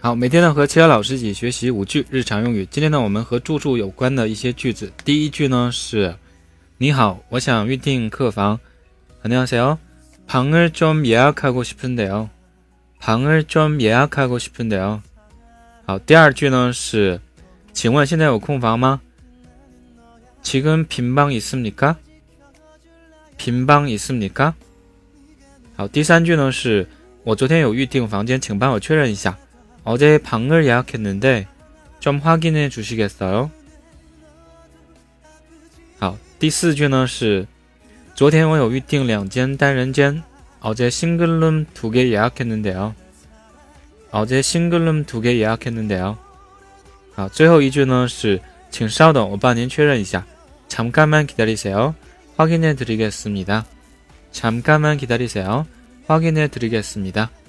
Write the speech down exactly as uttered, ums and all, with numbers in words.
好，每天呢和其他老师一起学习五句日常用语。今天呢我们和住宿有关的一些句子。第一句呢是你好，我想预订客房。안녕하세요. 방을 좀 예약하고 싶은데요. 방을 좀 예약하고 싶은데요. 好，第二句呢是请问现在有空房吗？ 지금 빈 방 있습니까? 빈 방 있습니까? 好，第三句呢是我昨天有预订房间，请帮我确认一下。 어제 방을 예약했는데 좀 확인해 주시겠어요? 好，第四句呢是昨天我有预订两间单人间。 어제 싱글룸 두 개 예약했는데요. 어제 싱글룸 두 개 예약했는데요. 好，最后一句呢是请稍等，我帮您确认一下。 잠깐만 기다리세요. 확인해 드리겠습니다. 잠깐만 기다리세요. 확인해 드리겠습니다.